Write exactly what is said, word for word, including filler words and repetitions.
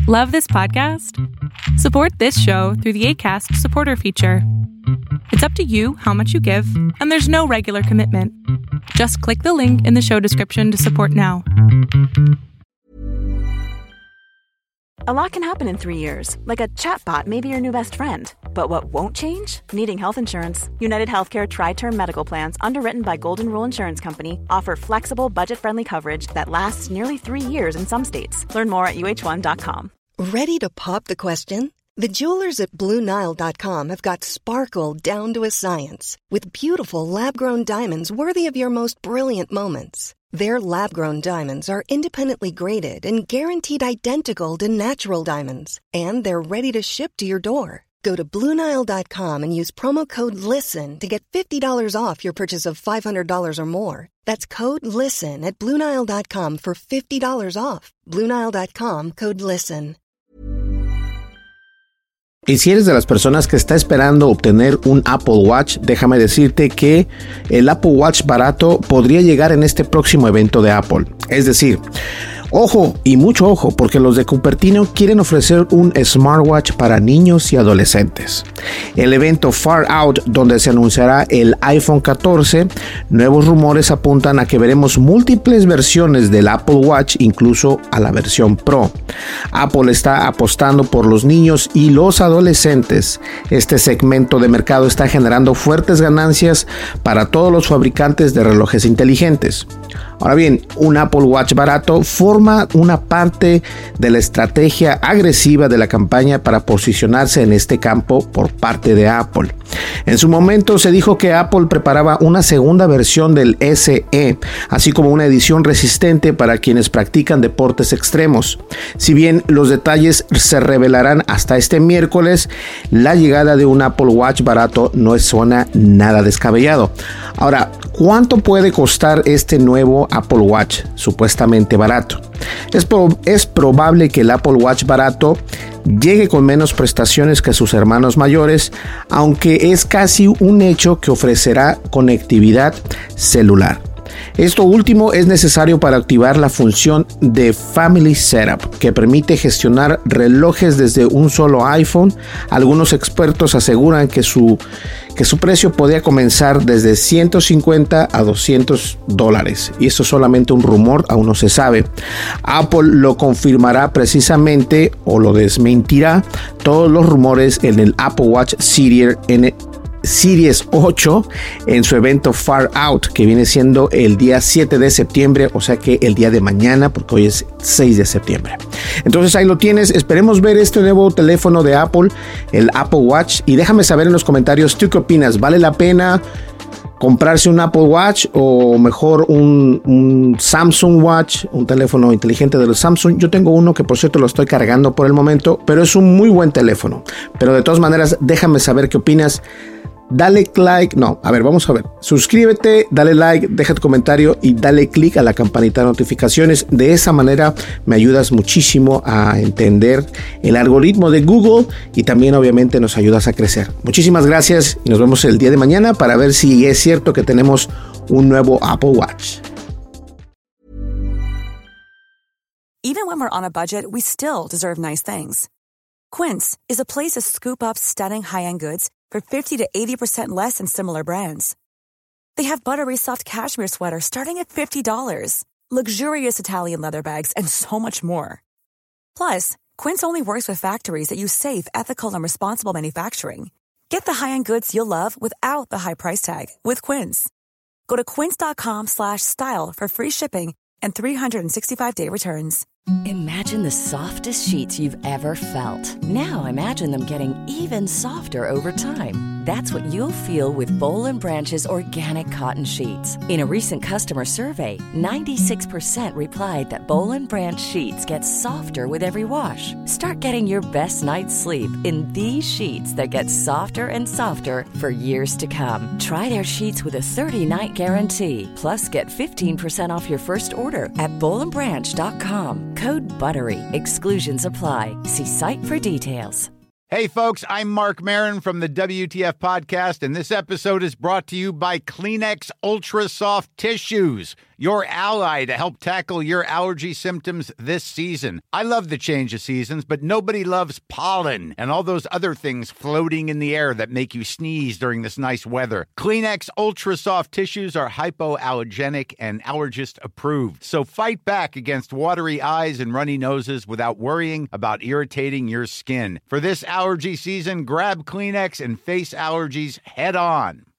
Love this podcast? Support this show through the Acast supporter feature. It's up to you how much you give, and there's no regular commitment. Just click the link in the show description to support now. A lot can happen in three years, like a chatbot may be your new best friend. But what won't change? Needing health insurance. United Healthcare Tri-Term Medical Plans, underwritten by Golden Rule Insurance Company, offer flexible, budget-friendly coverage that lasts nearly three years in some states. Learn more at U H one dot com. Ready to pop the question? The jewelers at Blue Nile dot com have got sparkle down to a science with beautiful lab-grown diamonds worthy of your most brilliant moments. Their lab-grown diamonds are independently graded and guaranteed identical to natural diamonds, and they're ready to ship to your door. Go to Blue Nile dot com and use promo code LISTEN to get fifty dollars off your purchase of five hundred dollars or more. That's code LISTEN at Blue Nile dot com for fifty dollars off. Blue Nile dot com, code LISTEN. Y si eres de las personas que está esperando obtener un Apple Watch, déjame decirte que el Apple Watch barato podría llegar en este próximo evento de Apple. Es decir, ojo y mucho ojo, porque los de Cupertino quieren ofrecer un smartwatch para niños y adolescentes. El evento Far Out, donde se anunciará el iPhone catorce, nuevos rumores apuntan a que veremos múltiples versiones del Apple Watch, incluso a la versión Pro. Apple está apostando por los niños y los adolescentes. Este segmento de mercado está generando fuertes ganancias para todos los fabricantes de relojes inteligentes. Ahora bien, un Apple Watch barato forma una parte de la estrategia agresiva de la campaña para posicionarse en este campo por parte de Apple. En su momento se dijo que Apple preparaba una segunda versión del S E, así como una edición resistente para quienes practican deportes extremos. Si bien los detalles se revelarán hasta este miércoles, la llegada de un Apple Watch barato no suena nada descabellado. Ahora, ¿cuánto puede costar este nuevo Apple Watch supuestamente barato? Es, pro- es probable que el Apple Watch barato llegue con menos prestaciones que sus hermanos mayores, aunque es casi un hecho que ofrecerá conectividad celular. Esto último es necesario para activar la función de Family Setup, que permite gestionar relojes desde un solo iPhone. Algunos expertos aseguran que su, que su precio podría comenzar desde ciento cincuenta a doscientos dólares. Y esto es solamente un rumor, aún no se sabe. Apple lo confirmará precisamente o lo desmentirá todos los rumores en el Apple Watch Series en Series ocho en su evento Far Out, que viene siendo el día siete de septiembre, o sea que el día de mañana, porque hoy es seis de septiembre. Entonces ahí lo tienes. Esperemos ver este nuevo teléfono de Apple, el Apple Watch, y déjame saber en los comentarios tú qué opinas. ¿Vale la pena comprarse un Apple Watch o mejor un, un Samsung Watch, un teléfono inteligente de los Samsung? Yo tengo uno que por cierto lo estoy cargando por el momento, pero es un muy buen teléfono. Pero de todas maneras, déjame saber qué opinas. Dale like, no, a ver, vamos a ver. Suscríbete, dale like, deja tu comentario y dale click a la campanita de notificaciones. De esa manera me ayudas muchísimo a entender el algoritmo de Google y también obviamente nos ayudas a crecer. Muchísimas gracias y nos vemos el día de mañana para ver si es cierto que tenemos un nuevo Apple Watch. Even when we're on a budget, we still deserve nice things. Quince is a place to scoop up stunning high-end goods for fifty to eighty percent less than similar brands. They have buttery soft cashmere sweaters starting at fifty dollars, luxurious Italian leather bags, and so much more. Plus, Quince only works with factories that use safe, ethical, and responsible manufacturing. Get the high-end goods you'll love without the high price tag with Quince. Go to quince.com slash style for free shipping and three sixty-five day returns. Imagine the softest sheets you've ever felt. Now imagine them getting even softer over time. That's what you'll feel with Boll and Branch's organic cotton sheets. In a recent customer survey, ninety-six percent replied that Boll and Branch sheets get softer with every wash. Start getting your best night's sleep in these sheets that get softer and softer for years to come. Try their sheets with a thirty-night guarantee. Plus, get fifteen percent off your first order at boll and branch dot com. Code BUTTERY. Exclusions apply. See site for details. Hey, folks, I'm Mark Maron from the W T F Podcast, and this episode is brought to you by Kleenex Ultra Soft Tissues, your ally to help tackle your allergy symptoms this season. I love the change of seasons, but nobody loves pollen and all those other things floating in the air that make you sneeze during this nice weather. Kleenex Ultra Soft Tissues are hypoallergenic and allergist approved. So fight back against watery eyes and runny noses without worrying about irritating your skin. For this allergy season, grab Kleenex and face allergies head on.